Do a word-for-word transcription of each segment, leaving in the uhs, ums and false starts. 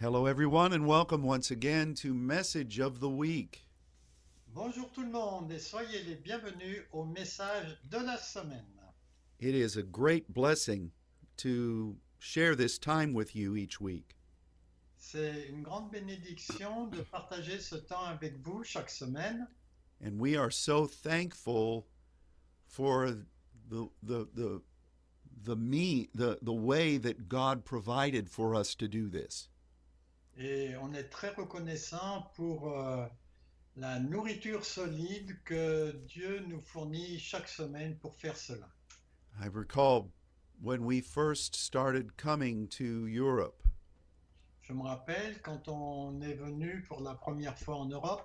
Hello, everyone, and welcome once again to Message of the Week. Bonjour tout le monde et soyez les bienvenus au message de la semaine. It is a great blessing to share this time with you each week. C'est une grande bénédiction de partager ce temps avec vous chaque semaine And we are so thankful for the, the, the, the, me, the, the way that God provided for us to do this. et on est très reconnaissant pour euh, la nourriture solide que Dieu nous fournit chaque semaine pour faire cela. I recall when we first started coming to Europe, Je me rappelle quand on est venu pour la première fois en Europe,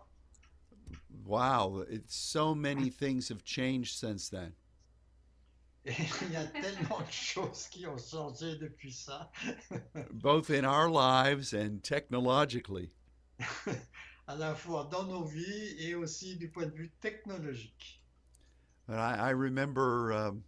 wow, it's so many things have changed since then. et il y a tellement de choses qui ont changé depuis ça. Both in our lives and technologically. À la fois dans nos vies et aussi du point de vue technologique. But I, I remember um,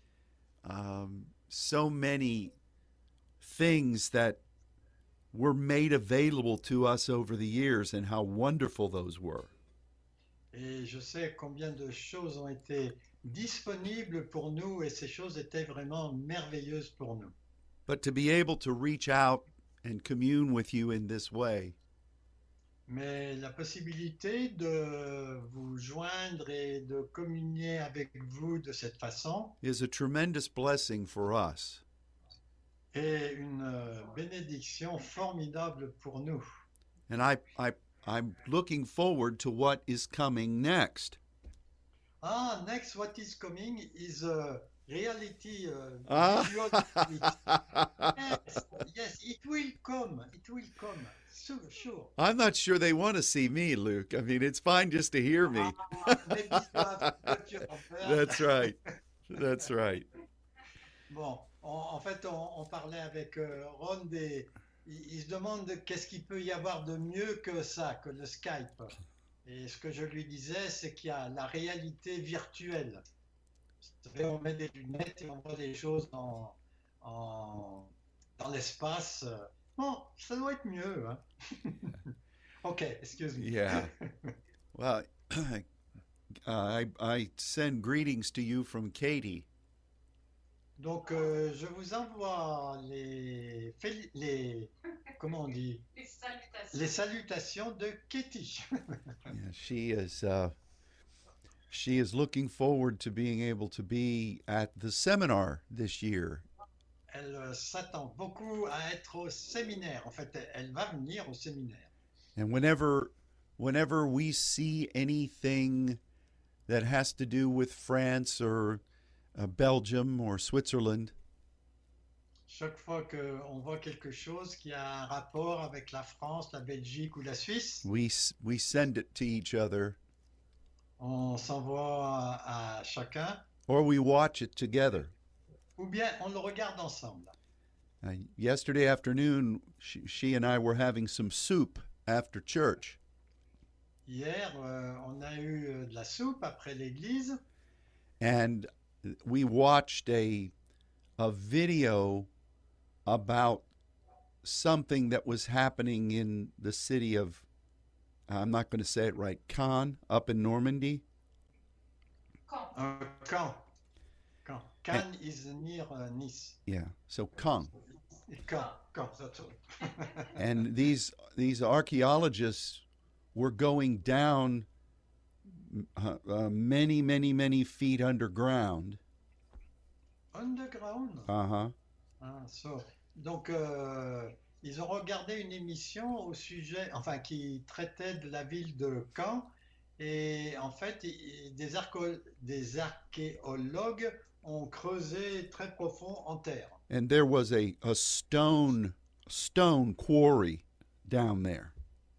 um, so many things that were made available to us over the years and how wonderful those were. Et je sais combien de choses ont été disponibles pour nous et ces choses étaient vraiment merveilleuses pour nous. But to be able to reach out and commune with you in this way Mais la possibilité de vous joindre et de communier avec vous de cette façon is a tremendous blessing for us. est une euh, bénédiction formidable pour nous. And I, I, I'm looking forward to what is coming next. Ah, next, what is coming is a reality uh, Ah. visual. Yes, yes, it will come. It will come. So, sure. I'm not sure they want to see me, Luke. I mean, it's fine just to hear me. Ah, maybe you have to put your belt. That's right. That's right. Bon, en, en fait, on, on parlait avec euh, Ron des. Il, il se demande qu'est-ce qu'il peut y avoir de mieux que ça, que le Skype. Et ce que je lui disais, c'est qu'il y a la réalité virtuelle. Vous savez, on met des lunettes et on voit des choses en, en- dans l'espace. Bon, ça doit être mieux, hein. Ok, excuse me. Yeah. Well, uh, I, I send greetings to you from Katie. Donc, euh, je vous envoie les, féli- les, comment on dit, Les salutations. les salutations de Katie. Yeah, she is uh, she is looking forward to being able to be at the seminar this year. Elle euh, s'attend beaucoup à être au séminaire. En fait, elle, elle va venir au séminaire. And whenever whenever we see anything that has to do with France or uh, Belgium or Switzerland, Chaque fois qu'on voit quelque chose qui a un rapport avec la France, la Belgique ou la Suisse, we s- we send it to each other on s'envoie à, à chacun or we watch it together. ou bien on le regarde ensemble. Uh, yesterday afternoon, she, she and I were having some soup after church, Hier, euh, on a eu euh, de la soupe après l'église and we watched a a video about something that was happening in the city of, I'm not going to say it right, Caen, up in Normandy. Quand? euh, Caen. Caen. Cannes is near uh, Nice. Yeah, so Caen. Caen, Caen, that's all. And these these archaeologists were going down uh, uh, many, many, many feet underground. Underground. Uh huh. Ah, so. Donc, euh, ils ont regardé une émission au sujet, enfin, qui traitait de la ville de Caen. Et en fait, i- des, arco- des archéologues ont creusé très profond en terre. And there was a, a stone stone quarry down there.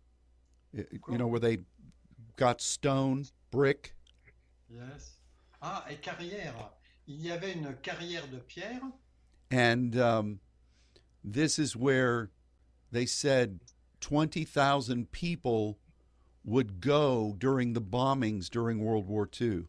Y- You know where they got stone, brick, Yes. Ah, et carrière. Il y avait une carrière de pierre. and um, this is where they said twenty thousand people would go during the bombings during World War Two.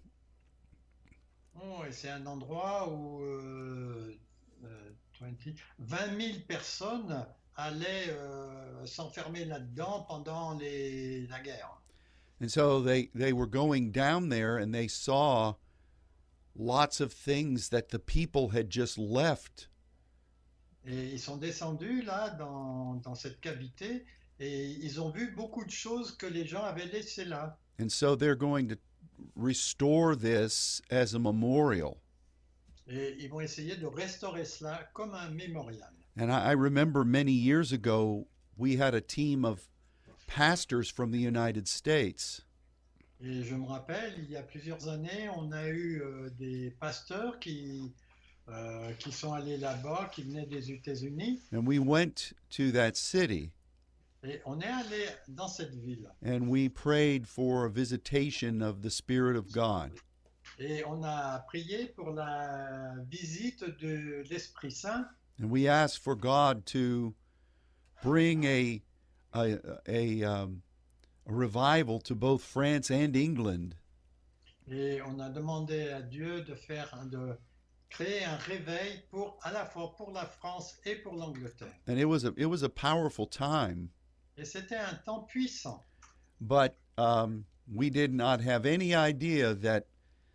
Oh, et c'est un endroit où euh, euh, vingt vingt mille personnes allaient euh, s'enfermer là-dedans pendant les, la guerre. And so they, they were going down there and they saw lots of things that the people had just left. Et ils sont descendus là dans, dans cette cavité et ils ont vu beaucoup de choses que les gens avaient laissées là. And so they're going to restore this as a memorial. Et ils vont essayer de restaurer cela comme un mémorial. And I, I remember many years ago, we had a team of pastors from the United States. Et je me rappelle, il y a plusieurs années, on a eu euh, des pasteurs qui, euh, qui sont allés là-bas, qui venaient des États-Unis. And we went to that city Et on est allé dans cette ville. and we prayed for a visitation of the Spirit of God. Et on a prié pour la visite de l'Esprit Saint. And we asked for God to bring a, a, a, um, a revival to both France and England. Et on a demandé à Dieu de faire, de créer un réveil pour, à la fois pour la France et pour l'Angleterre. And it was a, it was a powerful time, Et c'était un temps puissant. but um, we did not have any idea that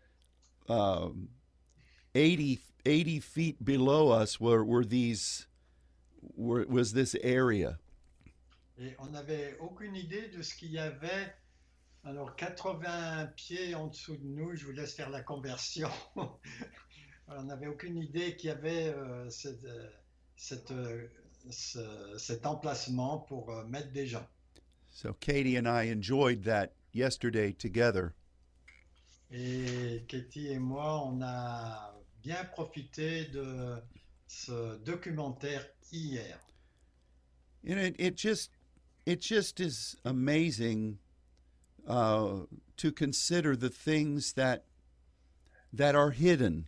um, eighty, eighty feet below us were, were these were, was this area. Et on n'avait aucune idée de ce qu'il y avait. Alors, quatre-vingts pieds en dessous de nous, je vous laisse faire la conversion. On n'avait aucune idée qu'il y avait euh, cette, euh, cette, euh, ce- cet emplacement pour euh, mettre des gens. So Katie and I enjoyed that yesterday together. Et Katie et moi, on a bien profité de ce documentaire hier. And it, it just it just is amazing uh, to consider the things that that are hidden.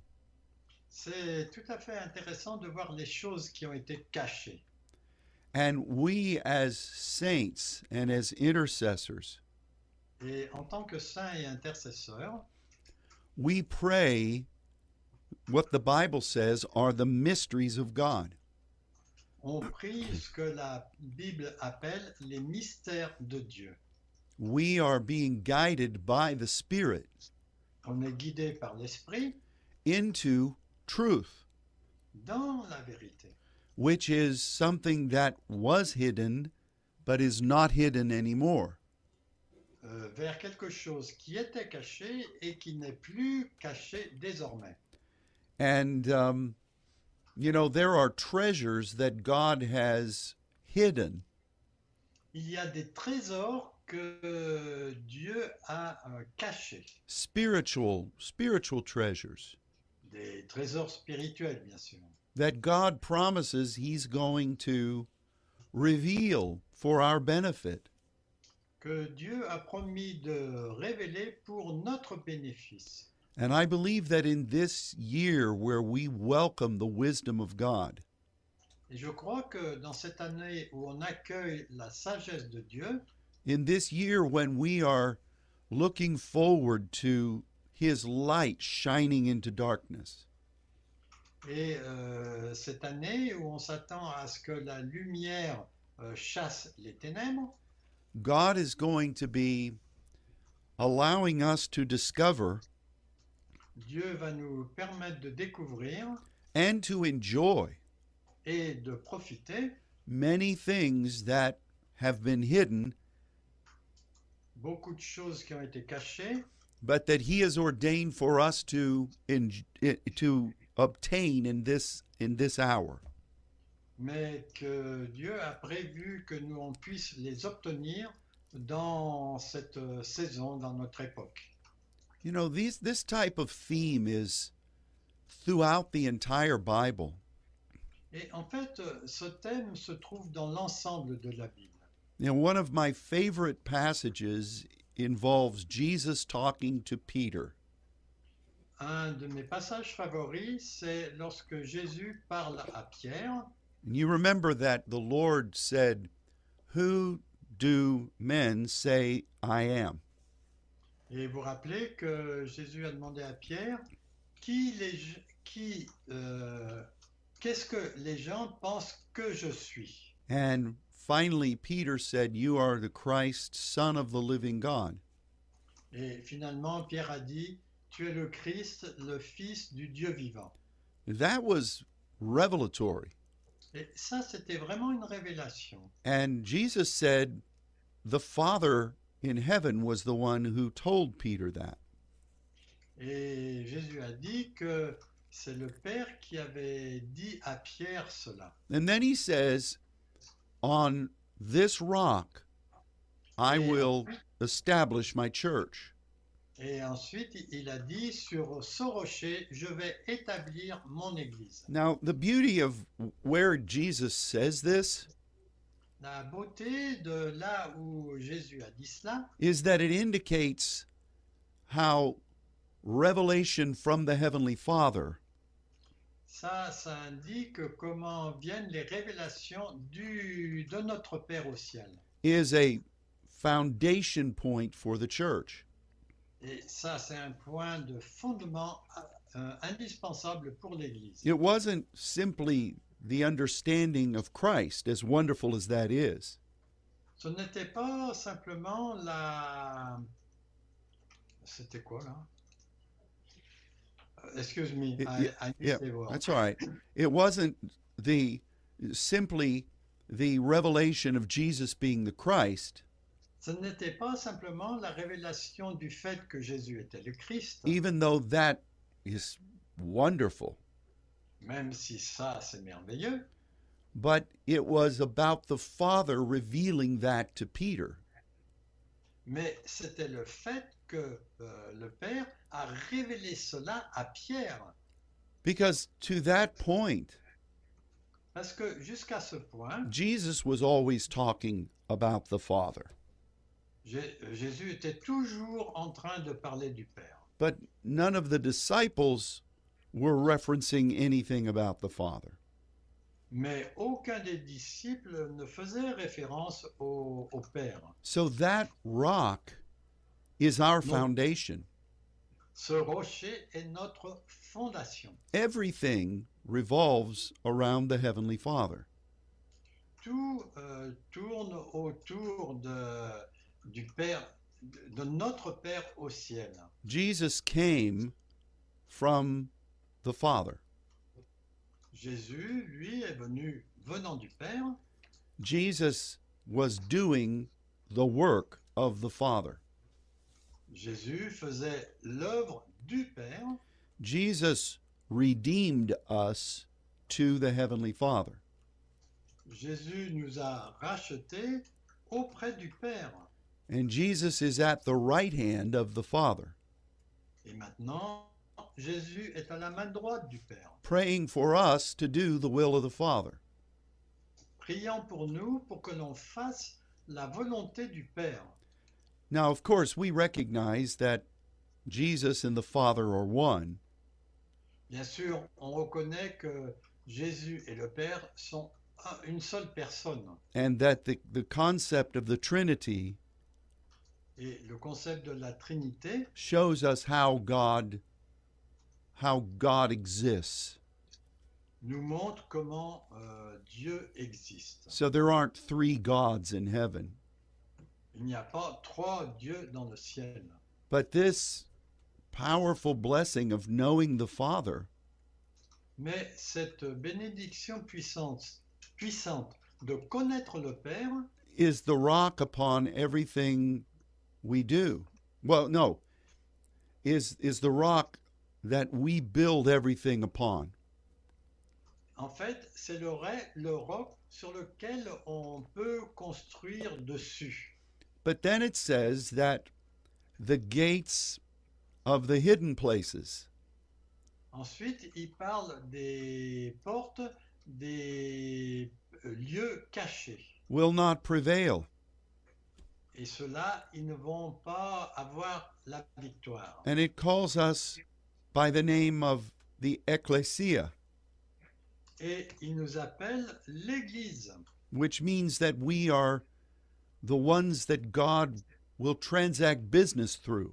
C'est tout à fait intéressant de voir les choses qui ont été cachées. And we as saints and as intercessors, Et en tant que saints et intercesseurs, we pray what the Bible says are the mysteries of God. on prie ce que la Bible appelle les mystères de Dieu. We are being guided by the Spirit On est guidé par l'Esprit into truth, dans la vérité, which is something that was hidden but is not hidden anymore. euh, vers quelque chose qui était caché et qui n'est plus caché désormais. And, um, you know, there are treasures that God has hidden, Il y a des trésors que Dieu a euh, cachés, spiritual, spiritual treasures des trésors spirituels bien sûr, that God promises He's going to reveal for our benefit. que Dieu a promis de révéler pour notre bénéfice. And I believe that in this year where we welcome the wisdom of God, Et je crois que dans cette année où on accueille la sagesse de Dieu, in this year when we are looking forward to His light shining into darkness, et euh, cette année où on s'attend à ce que la lumière euh, chasse les ténèbres, God is going to be allowing us to discover Dieu va nous permettre de découvrir and to enjoy et de profiter many things that have been hidden, beaucoup de choses qui ont été cachées, but that He has ordained for us to en- to obtain in this in this hour. mais que Dieu a prévu que nous on puisse les obtenir dans cette euh, saison, dans notre époque. You know, these this type of theme is throughout the entire Bible. Et en fait, euh, ce thème se trouve dans l'ensemble de la Bible. You know, one of my favorite passages involves Jesus talking to Peter. Un de mes passages favoris, c'est lorsque Jésus parle à Pierre. And you remember that the Lord said, "Who do men say I am?" Et vous rappelez que Jésus a demandé à Pierre qui, les, qui euh, qu'est-ce que les gens pensent que je suis? And finally, Peter said, "You are the Christ, Son of the living God." Et finalement, Pierre a dit, tu es le Christ, le Fils du Dieu vivant. That was revelatory. Et ça, c'était vraiment une révélation. And Jesus said, the Father in heaven was the one who told Peter that. Et Jésus a dit que c'est le Père qui avait dit à Pierre cela. And then he says, on this rock, I will establish my church. Et ensuite, il a dit, sur ce rocher, je vais établir mon Église. Now, the beauty of where Jesus says this La beauté de là où Jésus a dit cela, is that it indicates how revelation from the Heavenly Father ça, ça indique comment viennent les révélations du, de notre Père au ciel. is a foundation point for the church. Et ça, c'est un point de fondement euh, indispensable pour l'Église. It wasn't simply the understanding of Christ, as wonderful as that is. Ce n'était pas simplement la... C'était quoi là? Uh, Excuse me, It- I, yeah, I missed Yeah, the word. that's all right. It wasn't the simply the revelation of Jesus being the Christ, Ce n'était pas simplement la révélation du fait que Jésus était le Christ, even though that is wonderful, même si ça, c'est merveilleux, but it was about the Father revealing that to Peter. mais c'était le fait que euh, le Père a révélé cela à Pierre. Because to that point, Parce que jusqu'à ce point, Jesus was always talking about the Father. Jé- Jésus était toujours en train de parler du Père. But none of the disciples were referencing anything about the Father. Mais aucun des disciples ne faisait référence au, au Père. So that rock is our No. foundation. Ce rocher est notre fondation. Everything revolves around the Heavenly Father. Tout euh, tourne autour de, du Père, de, de notre Père au ciel. Jesus came from the Father. Jésus, lui, est venu venant du Père. Jesus was doing the work of the Father. Jésus faisait l'œuvre du Père. Jesus redeemed us to the Heavenly Father. Jésus nous a rachetés auprès du Père. And Jesus is at the right hand of the Father, Et maintenant, Jésus est à la main droite du Père, praying for us to do the will of the Father. priant pour nous pour que l'on fasse la volonté du Père. Now, of course, we recognize that Jesus and the Father are one, Bien sûr, on reconnaît que Jésus et le Père sont un- une seule personne. and that the, the concept of the Trinity Et le concept de la Trinité shows us how God how God exists. nous montre comment euh, Dieu existe. So there aren't three gods in heaven, Il n'y a pas trois dieux dans le ciel. but this powerful blessing of knowing the Father Mais cette bénédiction puissante, puissante de connaître le Père is the rock upon everything we do. Well, no, is is the rock that we build everything upon. En fait, c'est le, ra- le roc sur lequel on peut construire dessus. But then it says that the gates of the hidden places Ensuite, il parle des portes, des euh, lieux cachés. will not prevail. Et ceux-là, ils ne vont pas avoir la victoire. And it calls us by the name of the ecclesia, Et il nous appelle l'Église, which means that we are the ones that God will transact business through.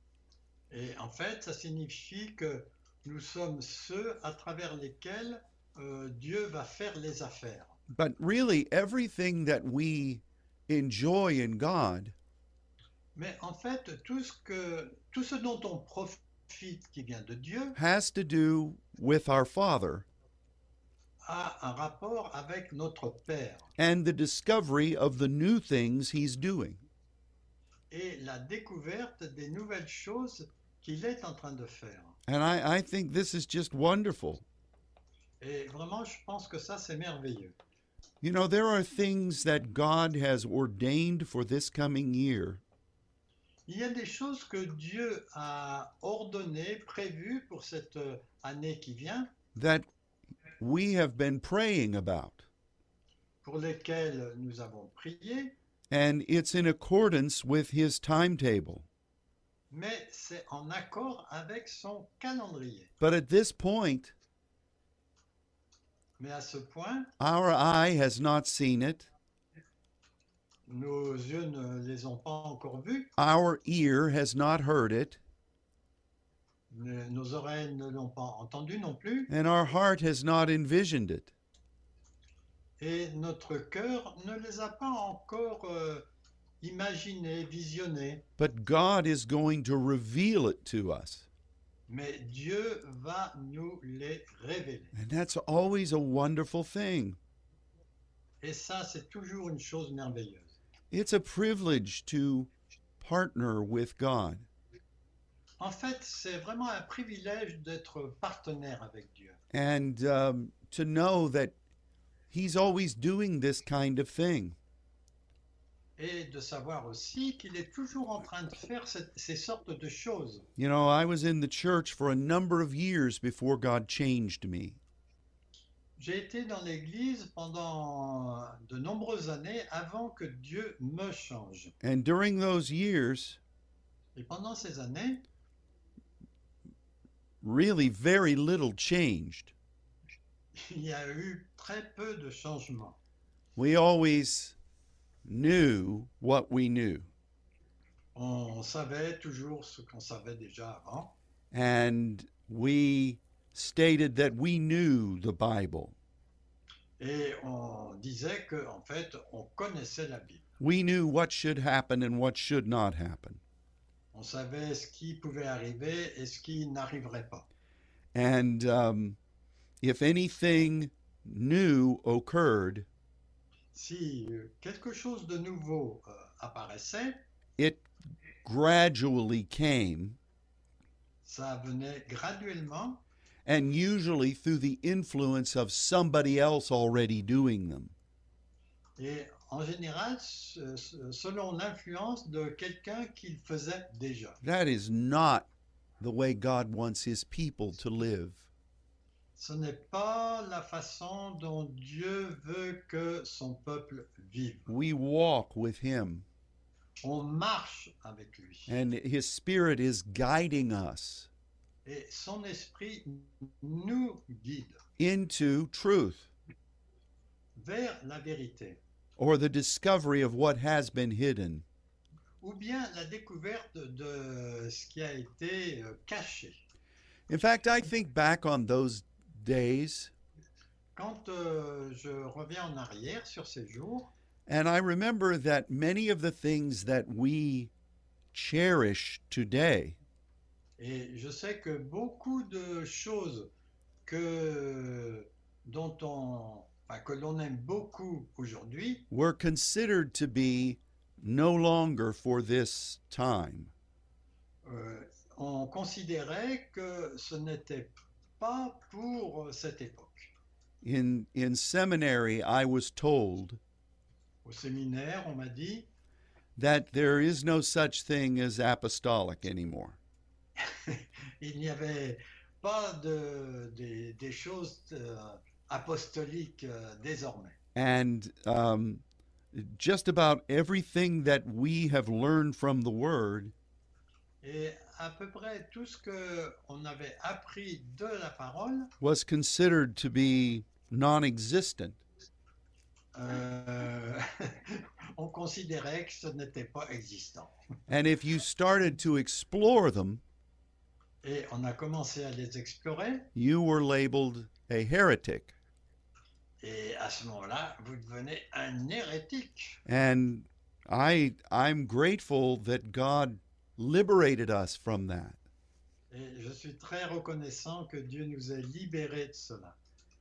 et en fait, ça signifie que nous sommes ceux à travers lesquels euh, Dieu va faire les affaires. But really, everything that we enjoy in God Mais en fait, tout ce que, tout ce dont on profite qui vient de Dieu has to do with our Father a un rapport avec notre Père and the discovery of the new things He's doing. et la découverte des nouvelles choses qu'il est en train de faire. And I, I think this is just wonderful. Et vraiment, je pense que ça, c'est merveilleux. You know, there are things that God has ordained for this coming year Il y a des choses que Dieu a ordonnées, prévues pour cette euh, année qui vient, that we have been praying about. pour lesquelles nous avons prié, And it's in accordance with His timetable. mais c'est en accord avec son calendrier. But at this point, Mais à ce point, our eye has not seen it, nos yeux ne les ont pas encore vus, our ear has not heard it, ne- nos oreilles ne l'ont pas entendu non plus, and our heart has not envisioned it. et notre cœur ne les a pas encore euh, imaginés, visionnés. But God is going to reveal it to us. Mais Dieu va nous les révéler. And that's always a wonderful thing. Et ça, c'est toujours une chose merveilleuse. It's a privilege to partner with God. En fait, c'est vraiment un privilège d'être partenaire avec Dieu. And um, to know that He's always doing this kind of thing. Et de savoir aussi qu'il est toujours en train de faire cette- ces sortes de choses. You know, I was in the church for a number of years before God changed me. J'ai été dans l'Église pendant de nombreuses années avant que Dieu me change. And during those years, Et pendant ces années, really very little changed. il y a eu très peu de changements. We always knew what we knew. On savait toujours ce qu'on savait déjà avant. And we stated that we knew the Bible. Et on disait que, en fait, on connaissait la Bible. We knew what should happen and what should not happen. On savait ce qui pouvait arriver et ce qui n'arriverait pas. And um, if anything new occurred, Si euh, quelque chose de nouveau euh, apparaissait, it gradually came, ça venait graduellement and usually through the influence of somebody else already doing them. et en général se- se- selon l'influence de quelqu'un qui le faisait déjà. That is not the way God wants His people to live. Ce n'est pas la façon dont Dieu veut que son peuple vive. We walk with Him, On marche avec lui. and His Spirit is guiding us Et son esprit nous guide into truth vers la vérité, or the discovery of what has been hidden. ou bien la découverte de ce qui a été euh, caché. In fact, I think back on those days, Quand euh, je reviens en arrière sur ces jours, and I remember that many of the things that we cherish today et je sais que beaucoup de choses que, dont on, enfin, que l'on aime beaucoup aujourd'hui were considered to be no longer for this time. euh, on considérait que ce n'était pas pour cette époque. In, in seminary, I was told Au séminaire, on m'a dit, that there is no such thing as apostolic anymore. il n'y avait pas de, des, des choses euh, apostoliques euh, désormais. And um, just about everything that we have learned from the Word Et à peu près tout ce qu'on avait appris de la parole was considered to be non-existent. euh, on considérait que ce n'était pas existant. And if you started to explore them, Et on a commencé à les explorer you were labeled a heretic. Et à ce moment-là, vous devenez un hérétique. And I I'm grateful that God liberated us from that. Et je suis très reconnaissant que Dieu nous ait libérés de cela.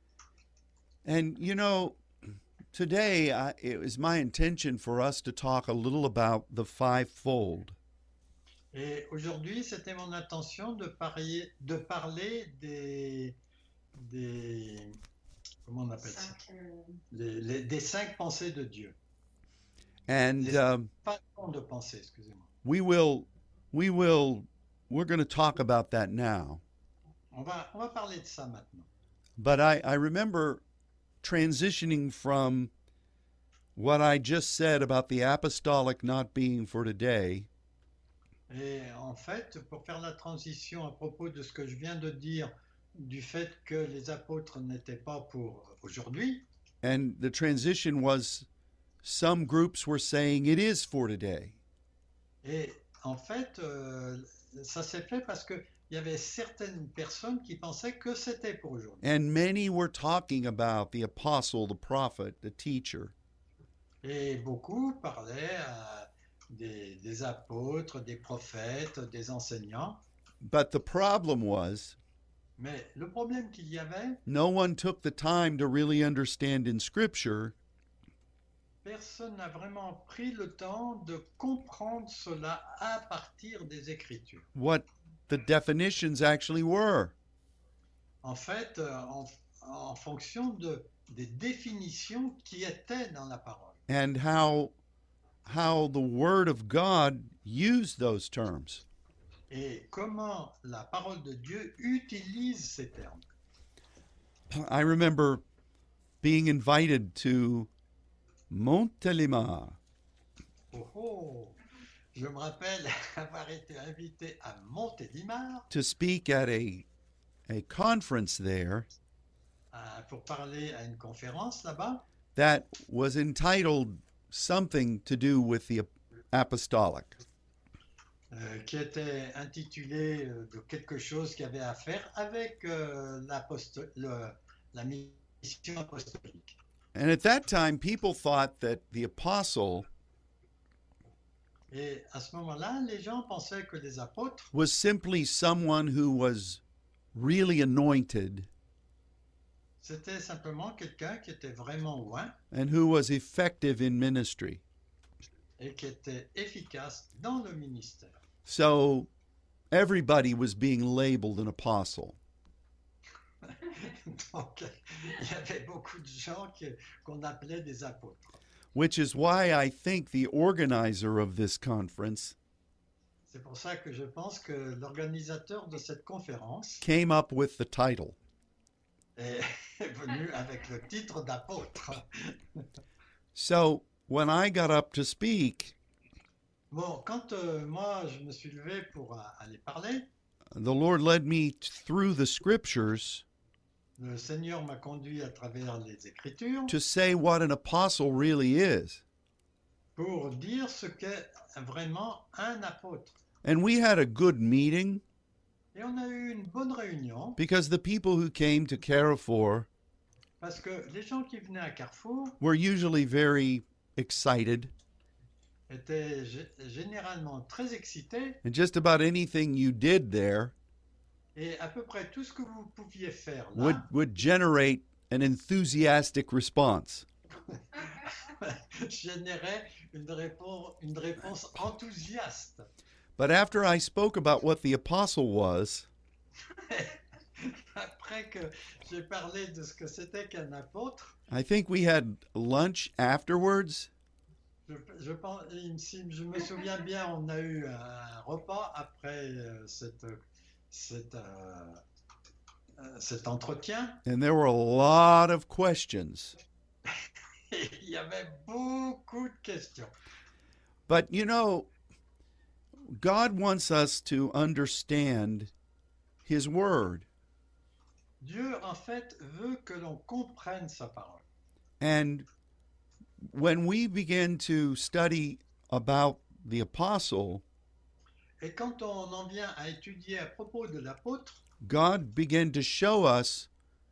And you know, today I, it was my intention for us to talk a little about the fivefold. Et aujourd'hui, c'était mon intention de parler, de parler des, des, comment on appelle ça? Cinq, euh, Les- les- des cinq pensées de Dieu. And Les um, façons de penser, excusez-moi. we will we will we're going to talk about that now. On va, on va parler de ça maintenant. But I, I remember transitioning from what I just said about the apostolic not being for today Et en fait, pour faire la transition à propos de ce que je viens de dire, du fait que les apôtres n'étaient pas pour aujourd'hui, and the transition was some groups were saying it is for today. et en fait, euh, ça s'est fait parce qu'il y avait certaines personnes qui pensaient que c'était pour aujourd'hui. And many were talking about the apostle, the prophet, the teacher. Et beaucoup parlaient à des, des apôtres, des prophètes, des enseignants. But the problem was Mais le problème qu'il y avait, no one took the time to really understand in Scripture personne n'a vraiment pris le temps de comprendre cela à partir des Écritures. what the definitions actually were. En fait, euh, en, en fonction de, des définitions qui étaient dans la parole. And how how the word of God used those terms. Et comment la parole de Dieu utilise ces termes. I remember being invited to Montélimar Oh, oh. Je me rappelle avoir été invité à Montélimar to speak at a a conference there euh, pour parler à une conférence là-bas that was entitled something to do with the apostolic. euh, qui était intitulée euh, de quelque chose qui avait à faire avec euh, l'aposto- le- la mission apostolique. And at that time, people thought that the apostle Et à ce moment-là, les gens pensaient que les apôtres, was simply someone who was really anointed c'était simplement quelqu'un qui était vraiment loin and who was effective in ministry. et qui était efficace dans le ministère. So everybody was being labeled an apostle. Donc, il y avait beaucoup de gens qui- qu'on appelait des apôtres. Which is why I think the organizer of this conference C'est pour ça que je pense que l'organisateur de cette conférence came up with the title. est venu avec le titre d'apôtre. So when I got up to speak, Bon, quand euh, moi je me suis levé pour euh, aller parler, the Lord led me t- through the scriptures le Seigneur m'a conduit à travers les Écritures to say what an apostle really is. pour dire ce qu'est vraiment un apôtre. And we had a good meeting Et on a eu une bonne réunion because the people who came to Carrefour parce que les gens qui venaient à Carrefour were usually very excited, étaient gé- généralement très excités and just about anything you did there et à peu près tout ce que vous pouviez faire would, là would generate an enthusiastic response. générait une réponse, une réponse enthousiaste. But after I spoke about what the apostle was, Après que j'ai parlé de ce que c'était qu'un apôtre, I think we had lunch afterwards, je, je, pense, il me sim- je me souviens bien, on a eu un repas après euh, cette, cette, euh, euh, cet entretien. and there were a lot of questions. Et il y avait beaucoup de questions. But you know, God wants us to understand His Word. Dieu, en fait, veut que l'on comprenne sa parole. And when we begin to study about the apostle, Et quand on en vient à étudier à propos de l'apôtre, God began to show us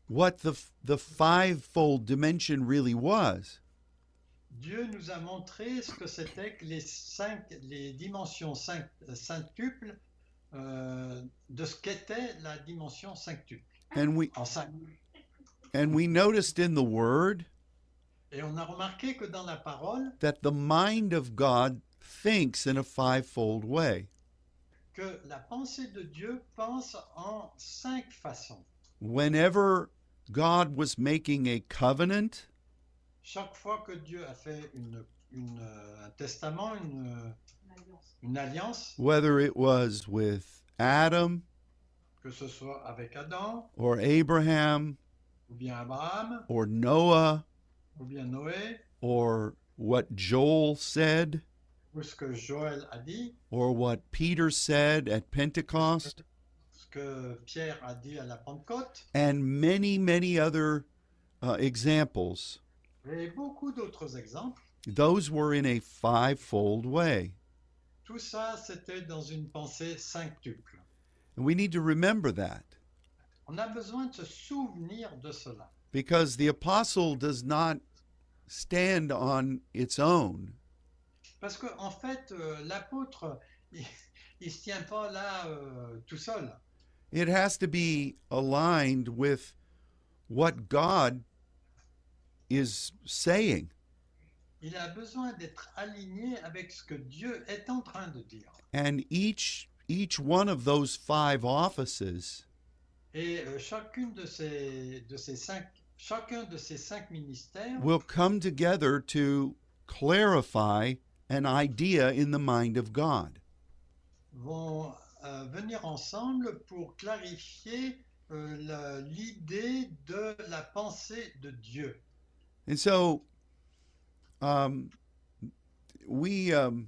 what the the fivefold dimension really was. Dieu nous a montré ce que c'était que les cinq, les dimensions cinq, centuples euh, de ce qu'était la dimension cinqutuple And we en cinq. and we noticed in the word Et on a remarqué que dans la parole, that the mind of God thinks in a fivefold way. que la pensée de Dieu pense en cinq façons. Whenever God was making a covenant, Chaque fois que Dieu a fait une, une, euh, un testament, une, Une alliance. une alliance, whether it was with Adam que ce soit avec Adam, or Abraham ou bien Abraham, or Noah ou bien Noé, or what Joel said ou ce que Joël a dit, or what Peter said at Pentecost, ce que Pierre a dit à la Pentecôte, and many, many other uh, examples, et beaucoup d'autres exemples. those were in a fivefold way. Tout ça, c'était dans une pensée cinqutuple. And we need to remember that On a besoin de se souvenir de cela. because the apostle does not stand on its own. Parce qu'en en fait, euh, l'apôtre, il ne se tient pas là euh, tout seul. It has to be aligned with what God is saying. Il a besoin d'être aligné avec ce que Dieu est en train de dire. And each each one of those five offices Et euh, chacune de ces, de ces cinq, chacun de ces cinq ministères will come together to clarify an idea in the mind of God. vont euh, venir ensemble pour clarifier euh, la- l'idée de la pensée de Dieu. And so um, we um,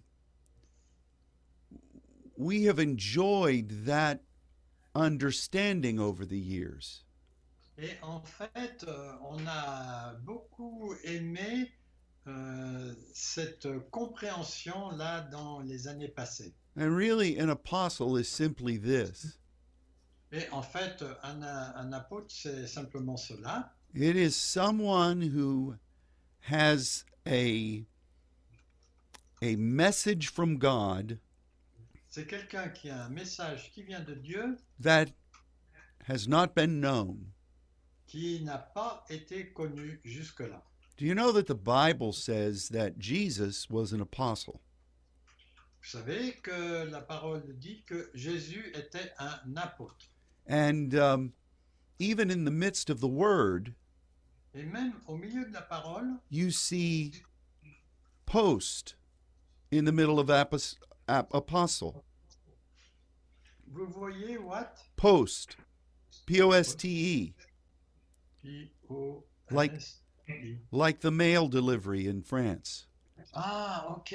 we have enjoyed that understanding over the years. Et en fait, euh, on a beaucoup aimé euh, cette compréhension-là dans les années passées. And really, an apostle is simply this: Et en fait, un, un apôtre, c'est simplement cela. it is someone who has a a message from God C'est quelqu'un qui a un message qui vient de Dieu, that has not been known. qui n'a pas été connu jusque-là. Do you know that the Bible says that Jesus was an apostle? Vous savez que la parole dit que Jésus était un apôtre. And um, even in the midst of the word, Et même au milieu de la parole, you see post in the middle of apos- ap- apostle. vous voyez what? Post. P O S T E. P O Like- S I. Like the mail delivery in France. Ah, ok.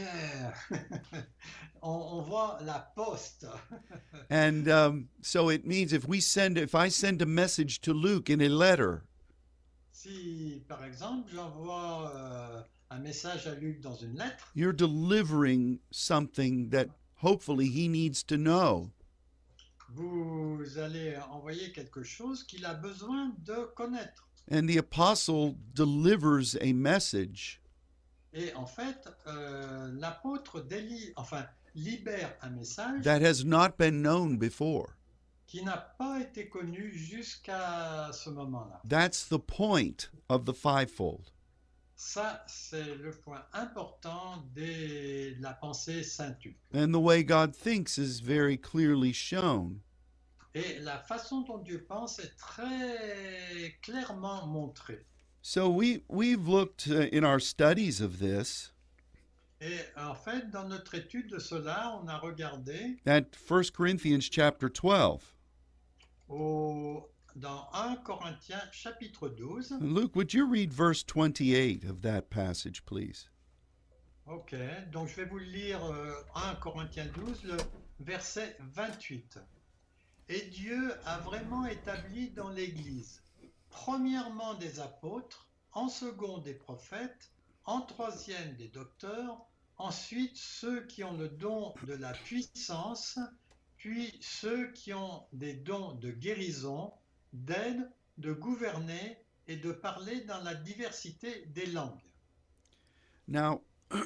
on, on voit la poste. And um, so it means if we send, if I send a message to Luke in a letter, Si, par exemple, j'envoie euh, un message à Luc dans une lettre, you're delivering something that hopefully he needs to know. vous allez envoyer quelque chose qu'il a besoin de connaître. And the apostle delivers a message Et en fait, euh, l'apôtre délie, enfin, libère un message that has not been known before. qui n'a pas été connu jusqu'à ce moment-là. That's the point of the fivefold. Ça, c'est le point important des- de la pensée saintuple. And the way God thinks is very clearly shown. Et la façon dont Dieu pense est très clairement montrée. So we we've looked uh, in our studies of this Et en fait, dans notre étude de cela, on a regardé at First Corinthians chapter twelve. au, dans un Corinthiens chapitre douze. Luke, would you read verse twenty-eight of that passage, please? Ok, donc je vais vous lire euh, un Corinthiens douze, le verset vingt-huit. Et Dieu a vraiment établi dans l'Église, premièrement des apôtres, en second des prophètes, en troisième des docteurs, ensuite ceux qui ont le don de la puissance, puis ceux qui ont des dons de guérison, d'aide de gouverner et de parler dans la diversité des langues. Now,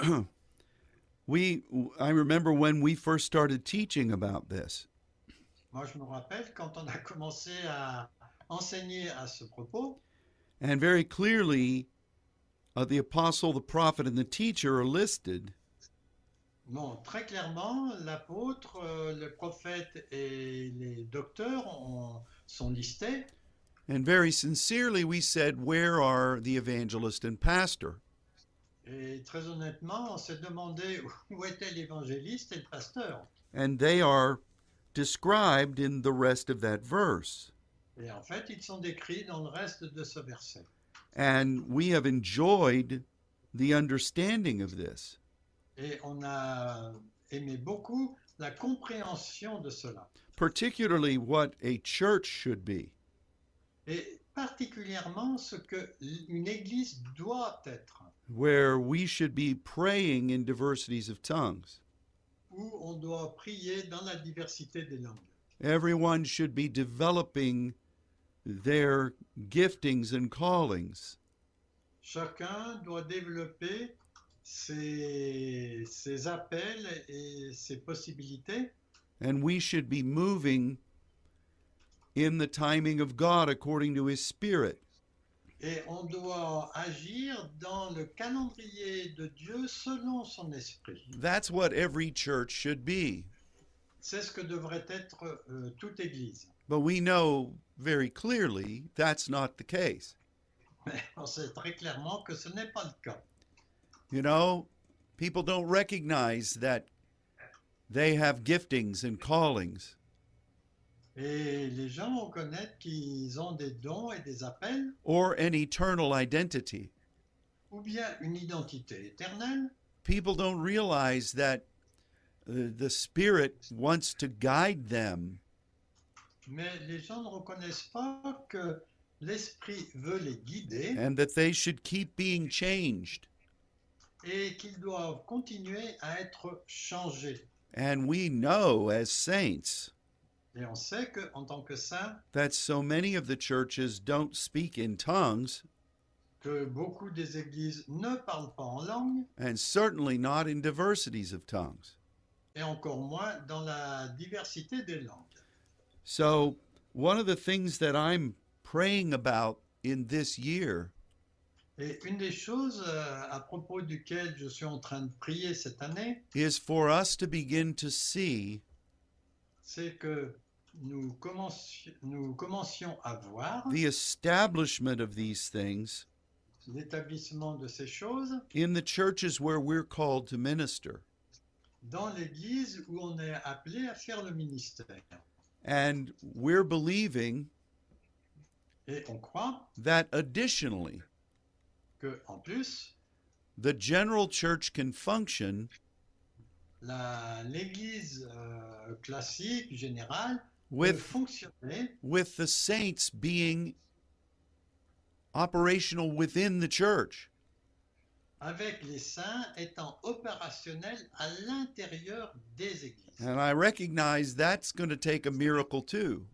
we I remember when we first started teaching about this. Moi, je me rappelle quand on a commencé à enseigner à ce propos, And very clearly, uh, the apostle, the prophet, and the teacher are listed. bon, très clairement, l'apôtre, euh, le prophète et les docteurs ont- sont listés. And very sincerely, we said, where are the evangelist and pastor? Et très honnêtement, on s'est demandé où était l'évangéliste et le pasteur. And they are described in the rest of that verse. Et en fait, ils sont décrits dans le reste de ce verset. And we have enjoyed the understanding of this. Et on a aimé beaucoup la compréhension de cela. Particularly what a church should be. Et particulièrement ce qu'une église doit être, Where we should be praying in diversities of tongues. où on doit prier dans la diversité des langues. Everyone should be developing their giftings and callings. Chacun doit développer ses, ses appels et ses possibilités. And we should be moving in the timing of God according to His Spirit. Et on doit agir dans le calendrier de Dieu selon son esprit. That's what every church should be. C'est ce que devrait être euh, toute église. But we know very clearly that's not the case. Mais on sait très clairement que ce n'est pas le cas. You know, people don't recognize that they have giftings and callings. Et les gens reconnaissent qu'ils ont des dons et des appels, Or an eternal identity. ou bien une identité éternelle. People don't realize that uh, the Spirit wants to guide them. Mais les gens ne reconnaissent pas que l'esprit veut les guider And that they should keep being changed. et qu'ils doivent continuer à être changés. And we know as saints Et on sait qu'en tant que saints, that so many of the churches don't speak in tongues, que beaucoup des églises ne parlent pas en langue, and certainly not in diversities of tongues. et encore moins dans la diversité des langues. So, one of the things that I'm praying about in this year Et une des choses euh, à propos duquel je suis en train de prier cette année, is for us to begin to see c'est que nous commencions, nous commencions à voir the establishment of these things l'établissement de ces choses in the churches where we're called to minister. dans l'église où on est appelé à faire le ministère. And we're believing Et on croit that additionally, que, en plus, the general church can function la- l'église euh, classique, générale, peut with fonctionner with the saints being operational within the church. avec les saints étant opérationnels à l'intérieur des églises. And I recognize that's going to take a miracle too.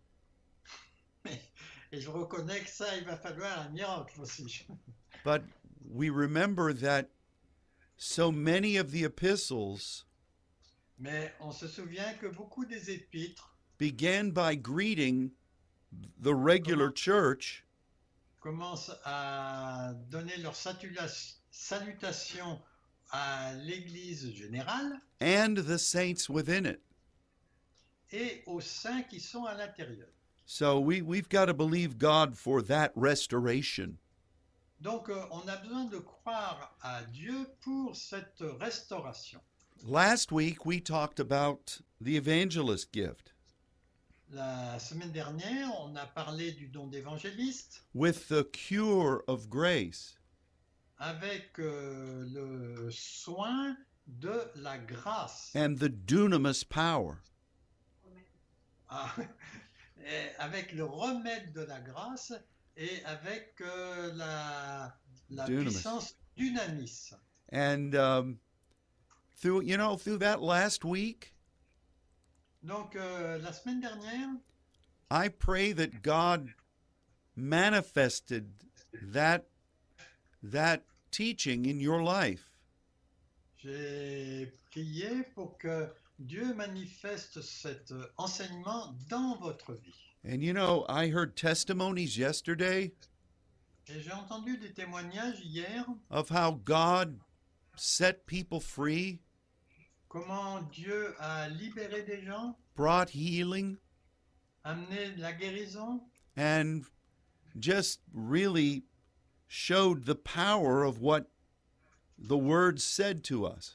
Et je reconnais que ça, il va falloir un miracle aussi. But we remember that so many of the epistles Mais on se souvient que beaucoup des épîtres began by greeting the regular church commencent à donner leur satula- salutation à l'église générale and the saints within it. et aux saints qui sont à l'intérieur. So we, we've got to believe God for that restoration. Donc euh, on a besoin de croire à Dieu pour cette restauration. Last week we talked about the evangelist gift La semaine dernière, on a parlé du don d'évangéliste with the cure of grace. avec euh, le soin de la grâce, And the dunamis power. Ah, et avec le remède de la grâce et avec euh, la, la Dunamis. puissance dunamis. And um, through you know through that last week, Donc euh, la semaine dernière, I pray that God manifested that that teaching in your life. J'ai prié pour que Dieu manifeste cet enseignement dans votre vie. And you know, I heard testimonies yesterday Et j'ai entendu des témoignages hier, of how God set people free, comment Dieu a libéré des gens, brought healing, amené de la guérison, and just really showed the power of what the Word said to us.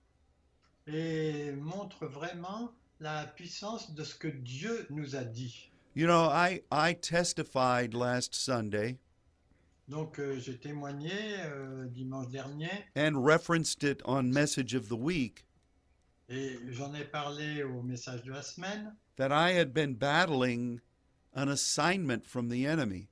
et montre vraiment la puissance de ce que Dieu nous a dit. You know, I, I testified last Sunday Donc euh, j'ai témoigné euh, dimanche dernier and referenced it on Message of the Week et j'en ai parlé au message de la semaine that I had been battling an assignment from the enemy.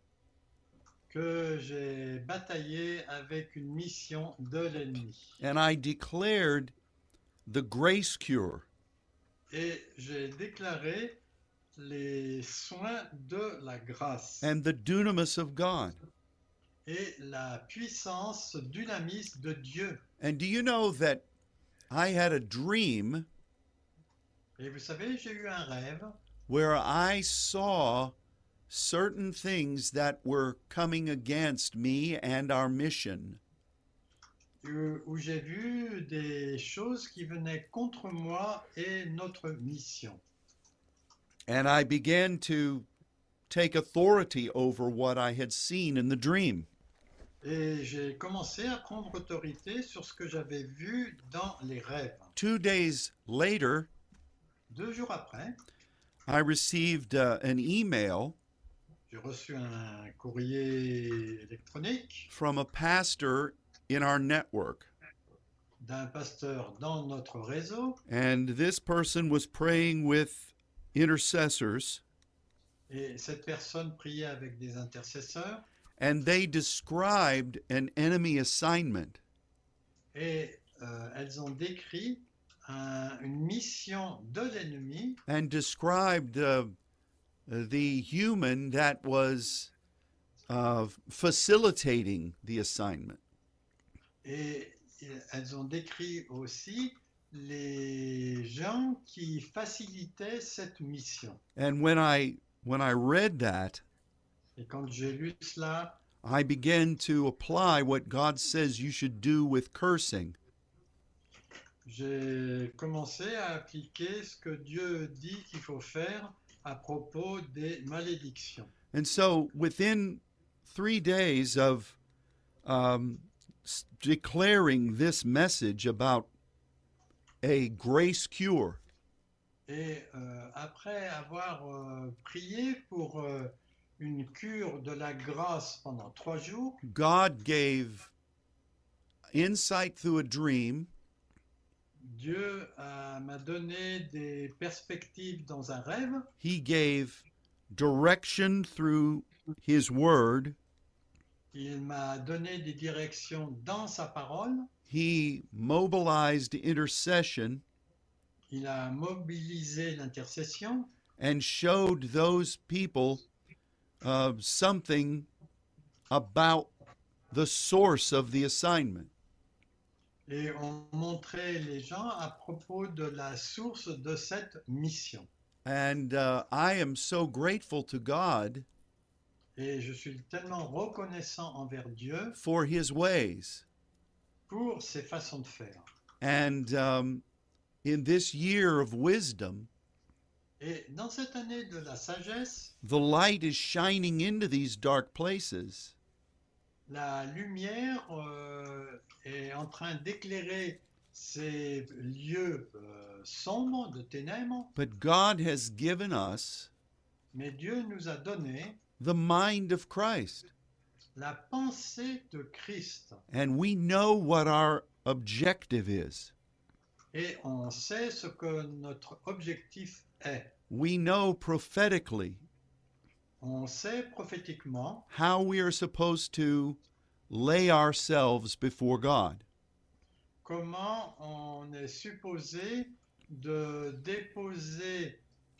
que j'ai bataillé avec une mission de l'ennemi. And I declared the grace cure. Et j'ai déclaré les soins de la grâce And the dunamis of God. et la puissance dynamis de Dieu. And do you know that I had a dream Et vous savez, j'ai eu un rêve where I saw certain things that were coming against me and our mission. où où j'ai vu des choses qui venaient contre moi et notre mission. And I began to take authority over what I had seen in the dream. Et j'ai commencé à prendre autorité sur ce que j'avais vu dans les rêves. Two days later, Deux jours après, I received uh, an email j'ai reçu un courrier électronique from a pastor in our network. d'un pasteur dans notre réseau. And this person was praying with intercessors, Et cette personne priait avec des intercesseurs and they described an enemy assignment. et euh, elles ont décrit un- une mission de l'ennemi And described uh, the human that was uh, facilitating the assignment. et et elles ont décrit aussi les gens qui facilitaient cette mission. And when I when I read that, Et quand j'ai lu cela, I began to apply what God says you should do with cursing. j'ai commencé à appliquer ce que Dieu dit qu'il faut faire à propos des malédictions. And so within three days of um, s- declaring this message about a grace cure, Et euh, après avoir euh, prié pour euh, une cure de la grâce pendant trois jours, God gave insight through a dream Dieu euh, m'a donné des perspectives dans un rêve. He gave direction through His Word. Il m'a donné des directions dans sa parole. He mobilized intercession Il a mobilisé l'intercession and showed those people uh, something about the source of the assignment. et on montrait les gens à propos de la source de cette mission. And uh, I am so grateful to God Et je suis tellement reconnaissant envers Dieu for His ways. pour ses façons de faire. And um, in this year of wisdom, Et dans cette année de la sagesse, the light is shining into these dark places. la lumière euh, est en train d'éclairer ces lieux euh, sombres de ténèbres, But God has given us mais Dieu nous a donné the mind of Christ. la pensée de Christ. And we know what our objective is. Et on sait ce que notre objectif est. We know prophetically On sait prophétiquement how we are supposed to lay ourselves before God. comment on est supposé de déposer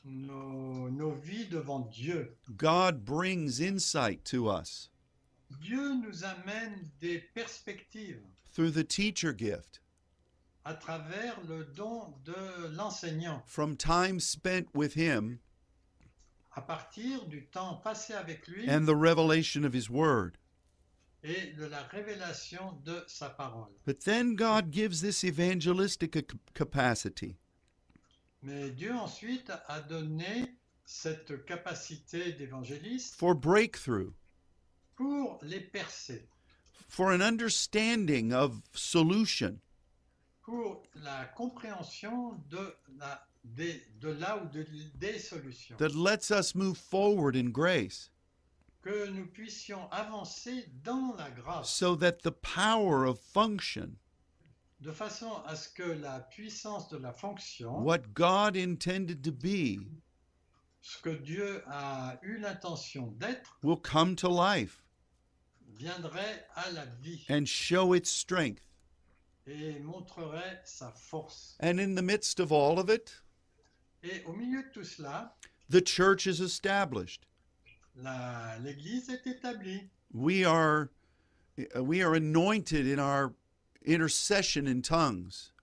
nos, nos vies devant Dieu. God brings insight to us Dieu nous amène des perspectives through the teacher gift, à travers le don de l'enseignant, from time spent with Him à partir du temps passé avec lui and the revelation of His Word. et de la révélation de sa parole. But then God gives this evangelistic cap- capacity. Mais Dieu ensuite a donné cette capacité d'évangéliste For breakthrough, pour les percer, for an understanding of solution, pour la compréhension de, la, des- de là ou de, des solutions, that lets us move forward in grace, que nous puissions avancer dans la grâce, so that the power of function, de façon à ce que la puissance de la fonction, what God intended to be, ce que Dieu a eu l'intention d'être, will come to life viendrait à la vie and show its strength. et montrerait sa force. And in the midst of all of it, Et au milieu de tout cela, the church is established. la- l'Église est établie. We are we are anointed in our intercession in tongues.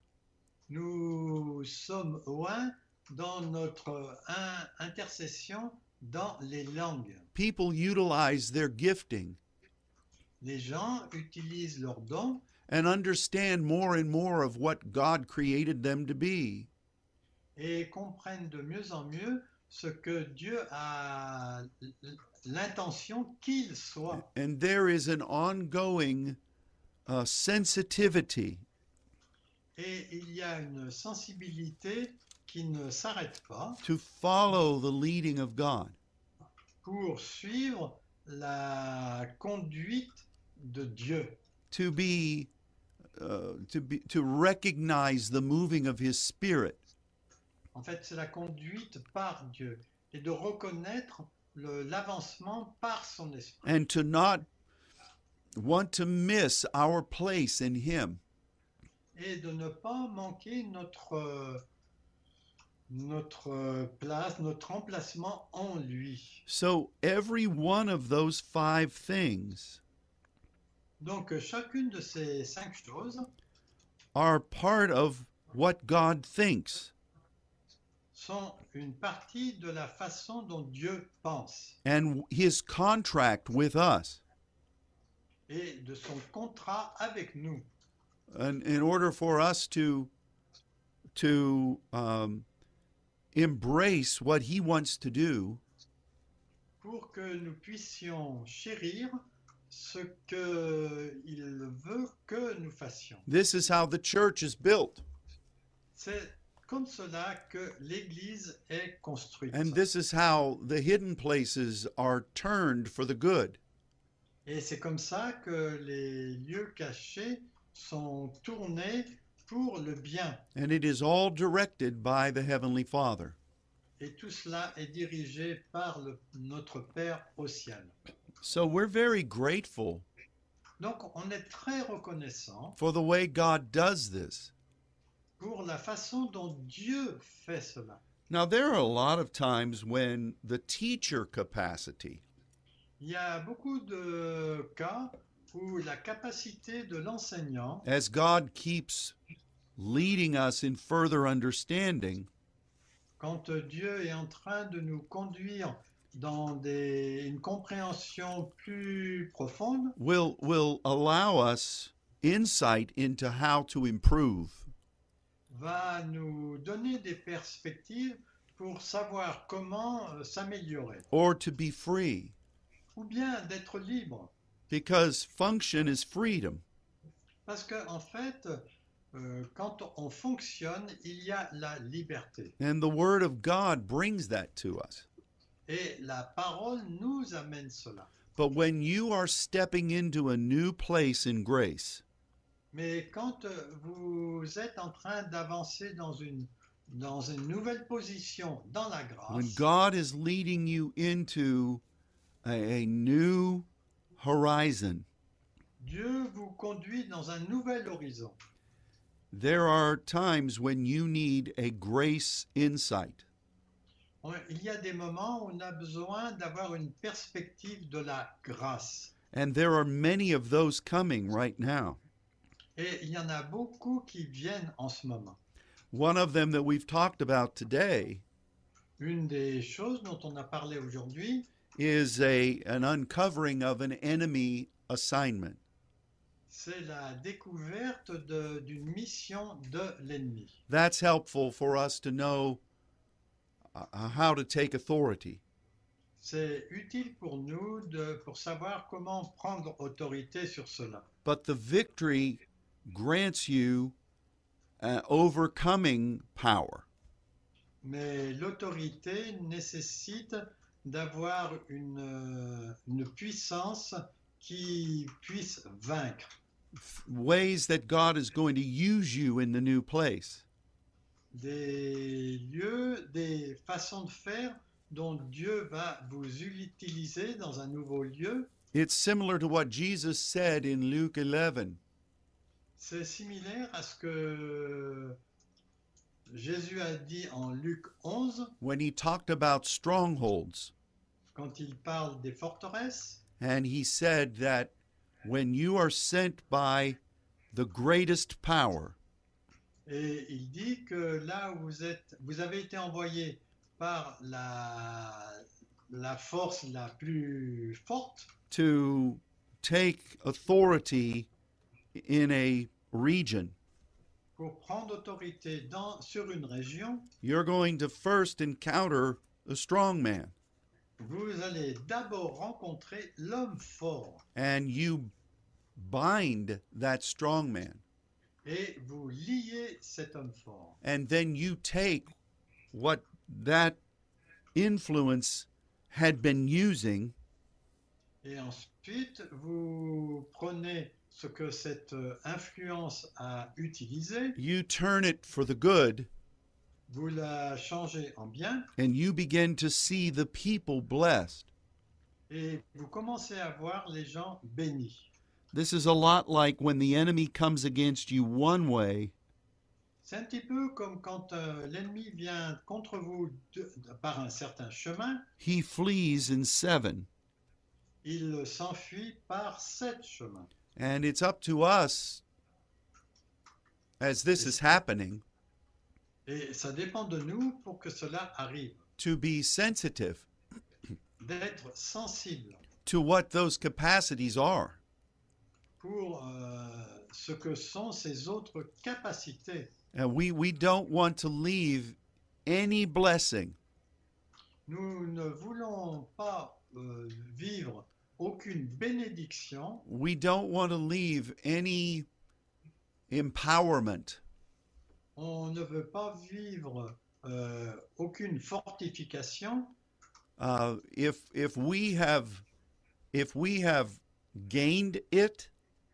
Nous sommes oints dans notre in- intercession dans les langues. People utilize their gifting Les gens utilisent leurs dons and understand more and more of what God created them to be. et comprennent de mieux en mieux ce que Dieu a l'intention qu'ils soient. And there is an ongoing uh, sensitivity Et il y a une sensibilité qui ne s'arrête pas to follow the leading of God. pour suivre la conduite de Dieu, To be, uh, to be, to recognize the moving of His Spirit, En fait, c'est la conduite par Dieu et de reconnaître le- l'avancement par son esprit and to not want to miss our place in Him. et de ne pas manquer notre, euh, notre place, notre emplacement en lui. So every one of those five things Donc, euh, chacune de ces cinq choses are part of what God thinks. sont une partie de la façon dont Dieu pense And His contract with us. et de son contrat avec nous. And in order for us to to um, embrace what He wants to do, Pour que nous puissions chérir ce qu'il veut que nous fassions. this is how the church is built, C'est comme cela que l'Église est construite. and this is how the hidden places are turned for the good. Et c'est comme ça que les lieux cachés sont tournés pour le bien. And it is all directed by the Heavenly Father. Et tout cela est dirigé par le- notre Père au ciel. So we're very grateful Donc on est très reconnaissant for the way God does this. pour la façon dont Dieu fait cela. Now, there are a lot of times when the teacher capacity Il y a beaucoup de cas où la capacité de l'enseignant, as God keeps leading us in further understanding, quand Dieu est en train de nous conduire dans des- une compréhension plus profonde, will will allow us insight into how to improve. va nous donner des perspectives pour savoir comment euh, s'améliorer, Or to be free, ou bien d'être libre. because function is freedom. Parce qu'en en fait, euh, quand on fonctionne, il y a la liberté. And the Word of God brings that to us. Et la parole nous amène cela. But when you are stepping into a new place in grace, Mais quand euh, vous êtes en train d'avancer dans une, dans une nouvelle position dans la when grâce, God is leading you into a, a new horizon, Dieu vous conduit dans un nouvel horizon. there are times when you need a grace insight. On- il y a des moments où on a besoin d'avoir une perspective de la grâce. And there are many of those coming right now. Et il y en a beaucoup qui viennent en ce moment. One of them that we've talked about today Une des choses dont on a parlé aujourd'hui, is a an uncovering of an enemy assignment. c'est la découverte de- d'une mission de l'ennemi. That's helpful for us to know uh, how to take authority. C'est utile pour nous de, pour savoir comment prendre autorité sur cela. But the victory grants you uh, overcoming power. Mais l'autorité nécessite d'avoir une, euh, une puissance qui puisse vaincre. Ways that God is going to use you in the new place. Des lieux, des façons de faire dont Dieu va vous utiliser dans un nouveau lieu. It's similar to what Jesus said in Luke eleven. C'est similaire à ce que Jésus a dit en Luc onze, When he talked about strongholds. quand il parle des forteresses. And he said that when you are sent by the greatest power, Et il dit que là où vous êtes, vous avez été envoyé par la, la force la plus forte to take authority in a region, pour prendre autorité dans, sur une région, you're going to first encounter a strong man. vous allez d'abord rencontrer l'homme fort And you bind that strong man. et vous liez cet homme fort. And then you take what that influence had been using Et ensuite, vous prenez ce que cette influence a utilisé, you turn it for the good, vous la changez en bien and you begin to see the people blessed. et vous commencez à voir les gens bénis. This is a lot like when the enemy comes against you one way, C'est un petit peu comme quand euh, l'ennemi vient contre vous de- de- par un certain chemin, he flees in seven. il s'enfuit par sept chemins. And it's up to us, as this is happening, Et ça dépend de nous pour que cela arrive, to be sensitive d'être sensible to what those capacities are. pour euh, ce que sont ces autres capacités. And we, we don't want to leave any blessing Nous ne voulons pas euh, vivre aucune bénédiction, we don't want to leave any empowerment on ne veut pas vivre euh, aucune fortification. uh, if if we have if we have gained it.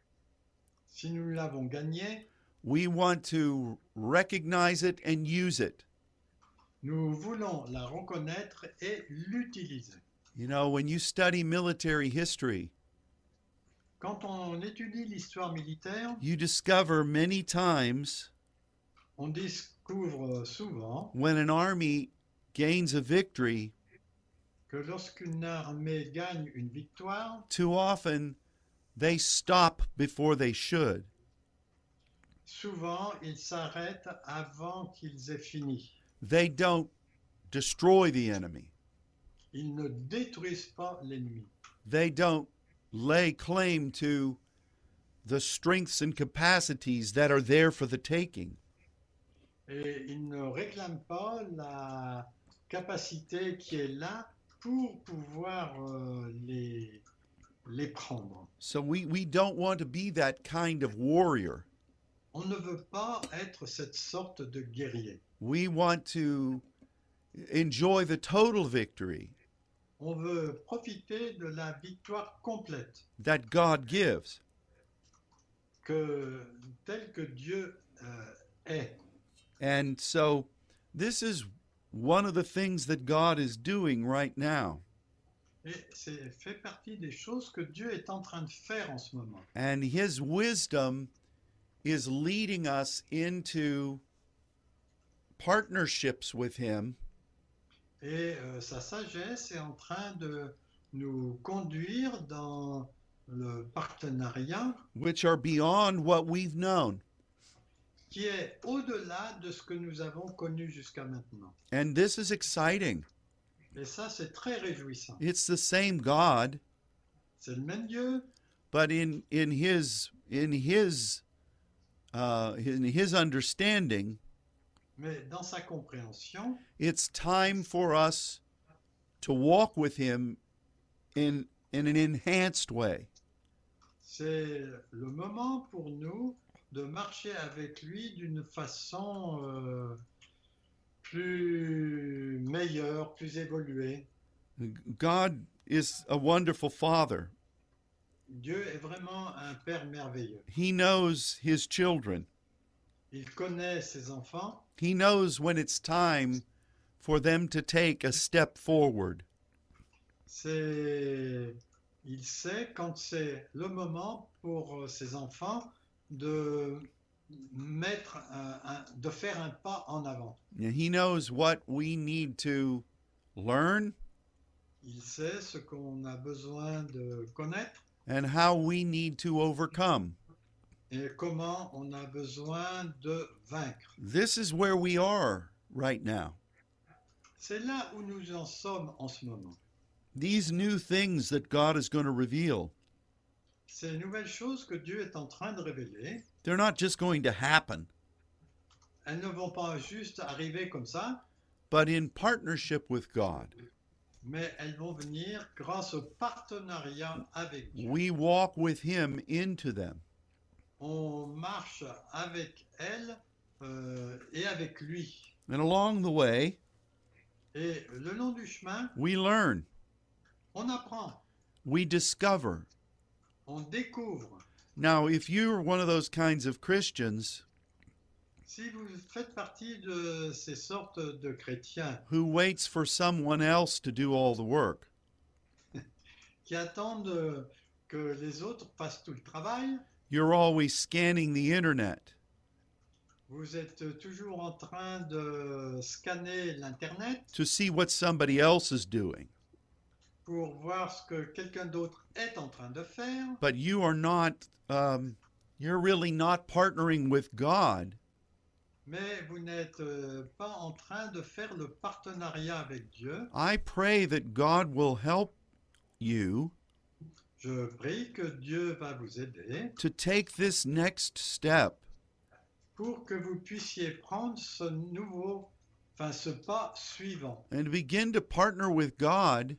Si nous l'avons gagné, We want to recognize it and use it. nous voulons la reconnaître et l'utiliser. You know, when you study military history, Quand on étudie l'histoire militaire, you discover many times on découvre souvent when an army gains a victory, que lorsqu'une armée gagne une victoire, too often they stop before they should. souvent ils s'arrêtent avant qu'ils aient fini. They don't destroy the enemy. Ils ne détruisent pas l'ennemi. They don't lay claim to the strengths and capacities that are there for the taking. Et ils ne réclament pas la capacité qui est là pour pouvoir euh, les, les prendre. So we, we don't want to be that kind of warrior. On ne veut pas être cette sorte de guerrier. We want to enjoy the total victory On veut profiter de la victoire complète that God gives. que, telle que Dieu euh, est. And so this is one of the things that God is doing right now. Et c'est fait partie des choses que Dieu est en train de faire en ce moment. And his wisdom is leading us into partnerships with him Et euh, sa sagesse est en train de nous conduire dans le partenariat which are beyond what we've known. qui est au-delà de ce que nous avons connu jusqu'à maintenant. And this is exciting. Et ça, c'est très réjouissant. It's the same God, C'est le même Dieu, but in in his in his uh, in his understanding, mais dans sa compréhension, it's time for us to walk with him in in an enhanced way. c'est le moment pour nous de marcher avec lui d'une façon euh, plus meilleure, plus évoluée. God is a wonderful father. Dieu est vraiment un Père merveilleux. He knows his children. Il connaît ses enfants. He knows when it's time for them to take a step forward. C'est, il sait quand c'est le moment pour ses enfants de mettre un- un- de faire un pas en avant. And he knows what we need to learn Il sait ce qu'on a besoin de connaître and how we need to overcome. et comment on a besoin de vaincre. This is where we are right now. C'est là où nous en sommes en ce moment. These new things that God is going to reveal, Ces nouvelles choses que Dieu est en train de révéler, they're not just going to happen, elles ne vont pas juste arriver comme ça, but in partnership with God. mais elles vont venir grâce au partenariat avec Dieu. We walk with him into them. On marche avec elles euh, et avec lui. And along the way, Et le long du chemin, we learn, on apprend, we discover. on découvre. Now, if you're one of those kinds of Christians Si vous faites partie de ces sortes de chrétiens who waits for someone else to do all the work, qui attendent euh, que les autres fassent tout le travail, you're always scanning the internet. vous êtes toujours en train de scanner l'Internet To see what somebody else is doing, pour voir ce que quelqu'un d'autre est en train de faire, but you are not, um, you're really not partnering with God. mais vous n'êtes euh, pas en train de faire le partenariat avec Dieu. I pray that God will help you Je prie que Dieu va vous aider to take this next step pour que vous puissiez prendre ce nouveau, enfin ce pas suivant and begin to partner with God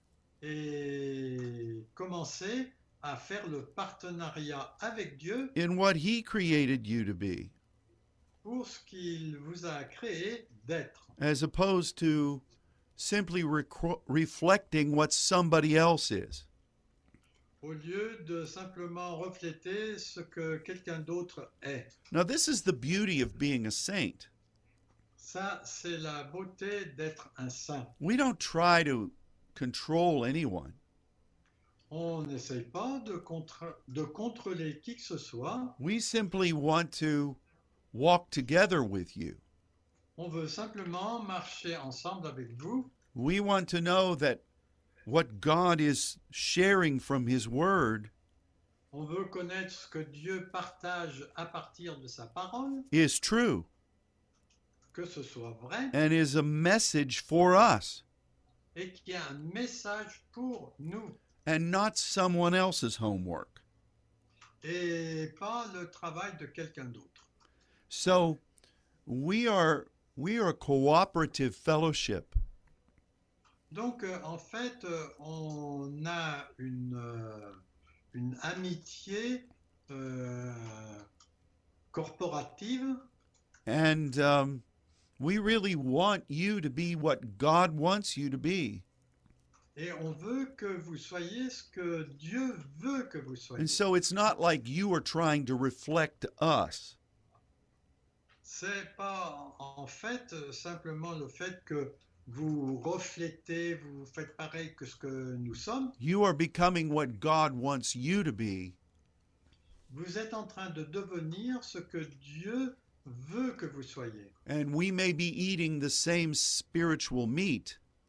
et commencer à faire le partenariat avec Dieu in what He created you to be, pour ce qu'il vous a créé d'être, as opposed to simply recro- reflecting what somebody else is. au lieu de simplement refléter ce que quelqu'un d'autre est. Now, this is the beauty of being a saint. Ça, c'est la beauté d'être un saint. We don't try to control anyone. On n'essaye pas de, contre- de contrôler qui que ce soit. We simply want to walk together with you. On veut simplement marcher ensemble avec vous. We want to know that what God is sharing from His Word On veut connaître ce que Dieu partage à partir de sa parole, is true que ce soit vrai, and is a message for us et qu'il y a un message pour nous, and not someone else's homework. et pas le travail de quelqu'un d'autre. So we are we are a cooperative fellowship. Donc, euh, en fait, euh, on a une, euh, une amitié euh, corporative, And um, we really want you to be what God wants you to be. et on veut que vous soyez ce que Dieu veut que vous soyez. And so it's not like you are trying to reflect us. C'est pas en fait euh, simplement le fait que vous reflétez, vous faites pareil que ce que nous sommes. You are becoming what God wants you to be. Vous êtes en train de devenir ce que Dieu veut que vous soyez. And we may be eating the same spiritual meat,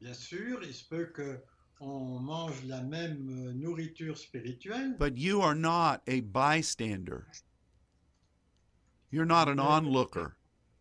Bien sûr, il se peut que on mange la même euh, nourriture spirituelle, but you are not a bystander. You're not an onlooker.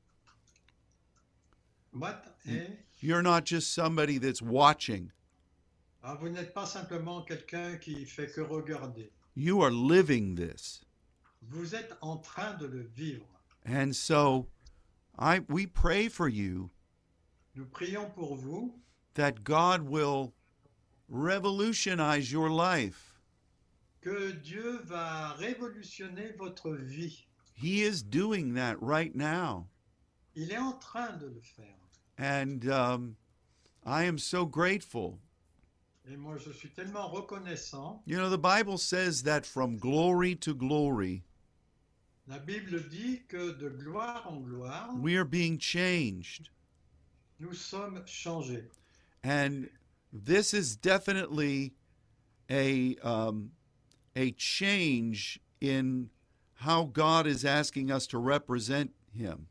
What? Et You're not just somebody that's watching. ah, vous n'êtes pas simplement quelqu'un qui fait que regarder. You are living this. Vous êtes en train de le vivre. And so I we pray for you Nous prions pour vous that God will revolutionize your life. que Dieu va révolutionner votre vie. He is doing that right now. Il est en train de le faire. And um, I am so grateful. Et moi, je suis tellement reconnaissant. You know, the Bible says that from glory to glory, La Bible dit que de gloire en gloire, we are being changed. nous sommes changés. And this is definitely a um, a change in how God is asking us to represent Him.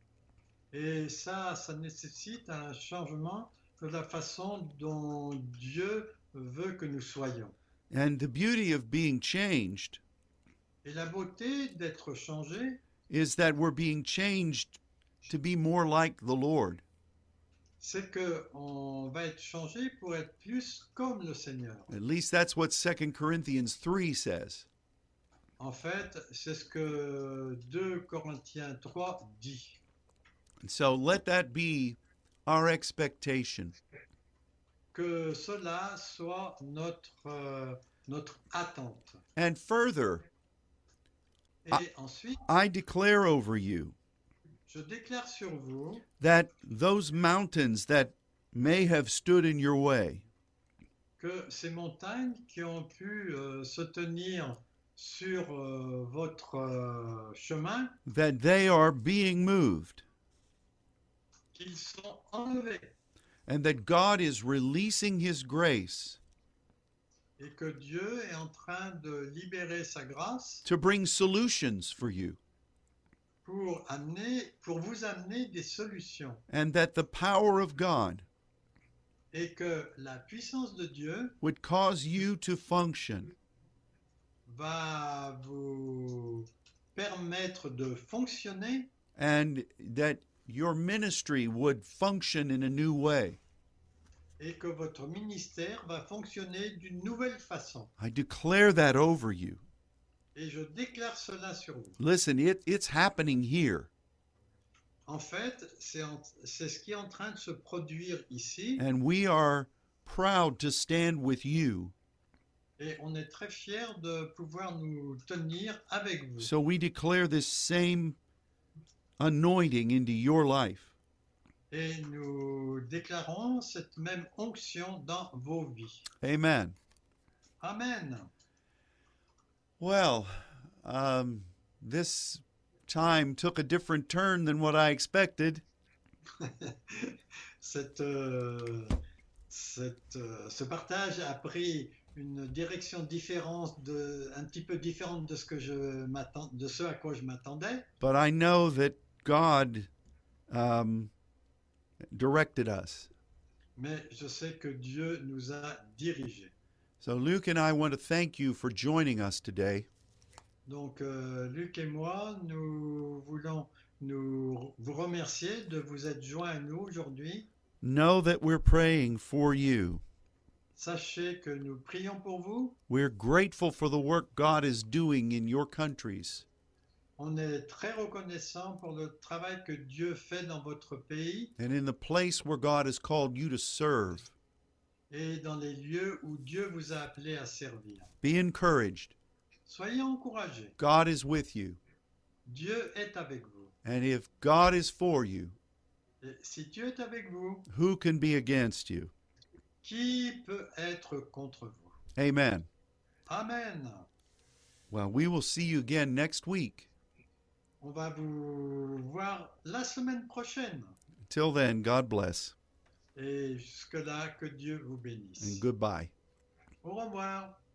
Et ça, ça nécessite un changement de la façon dont Dieu veut que nous soyons. And the beauty of being changed Et la beauté d'être changé, is that we're being changed to be more like the Lord. c'est qu'on va être changé pour être plus comme le Seigneur. At least that's what Second Corinthians three says. En fait, c'est ce que deux Corinthiens trois dit. And so let that be our expectation. Que cela soit notre, euh, notre attente. And further, Et Ah. ensuite, I declare over you je déclare sur vous that those mountains that may have stood in your way, que ces montagnes qui ont pu euh, se tenir sur euh, votre euh, chemin, that they are being moved, qu'ils sont enlevés and that God is releasing His grace et que Dieu est en train de libérer sa grâce to bring solutions for you, pour amener, pour vous amener des solutions and that the power of God et que la puissance de Dieu would cause you to function va vous permettre de fonctionner and that your ministry would function in a new way. et que votre ministère va fonctionner d'une nouvelle façon. I declare that over you. Et je déclare cela sur vous. Listen, it, it's happening here. En fait, c'est en- c'est ce qui est en train de se produire ici And we are proud to stand with you. et on est très fiers de pouvoir nous tenir avec vous. So we declare this same anointing into your life. Et nous déclarons cette même onction dans vos vies. Amen. Amen. Well, um, this time took a different turn than what I expected. Cette, euh, cette, euh, ce partage a pris une direction différente, de, un petit peu différente de ce, que je m'attend, de ce à quoi je m'attendais. But I know that God um, directed us. Mais je sais que Dieu nous a dirigés. So Luke and I want to thank you for joining us today. Donc, euh, Luc et moi, nous voulons nous vous remercier de vous être joints à nous aujourd'hui. Know that we're praying for you. Sachez que nous prions pour vous. We're grateful for the work God is doing in your countries. On est très reconnaissant pour le travail que Dieu fait dans votre pays And in the place where God has called you to serve. et dans les lieux où Dieu vous a appelé à servir. Be encouraged. Soyez encouragés. God is with you. Dieu est avec vous. And if God is for you, Et si Dieu est avec vous, who can be against you? qui peut être contre vous? Amen. Amen. Well, we will see you again next week. On va vous voir la semaine prochaine. Till then, God bless Et jusque-là, que Dieu vous bénisse. and goodbye. Au revoir.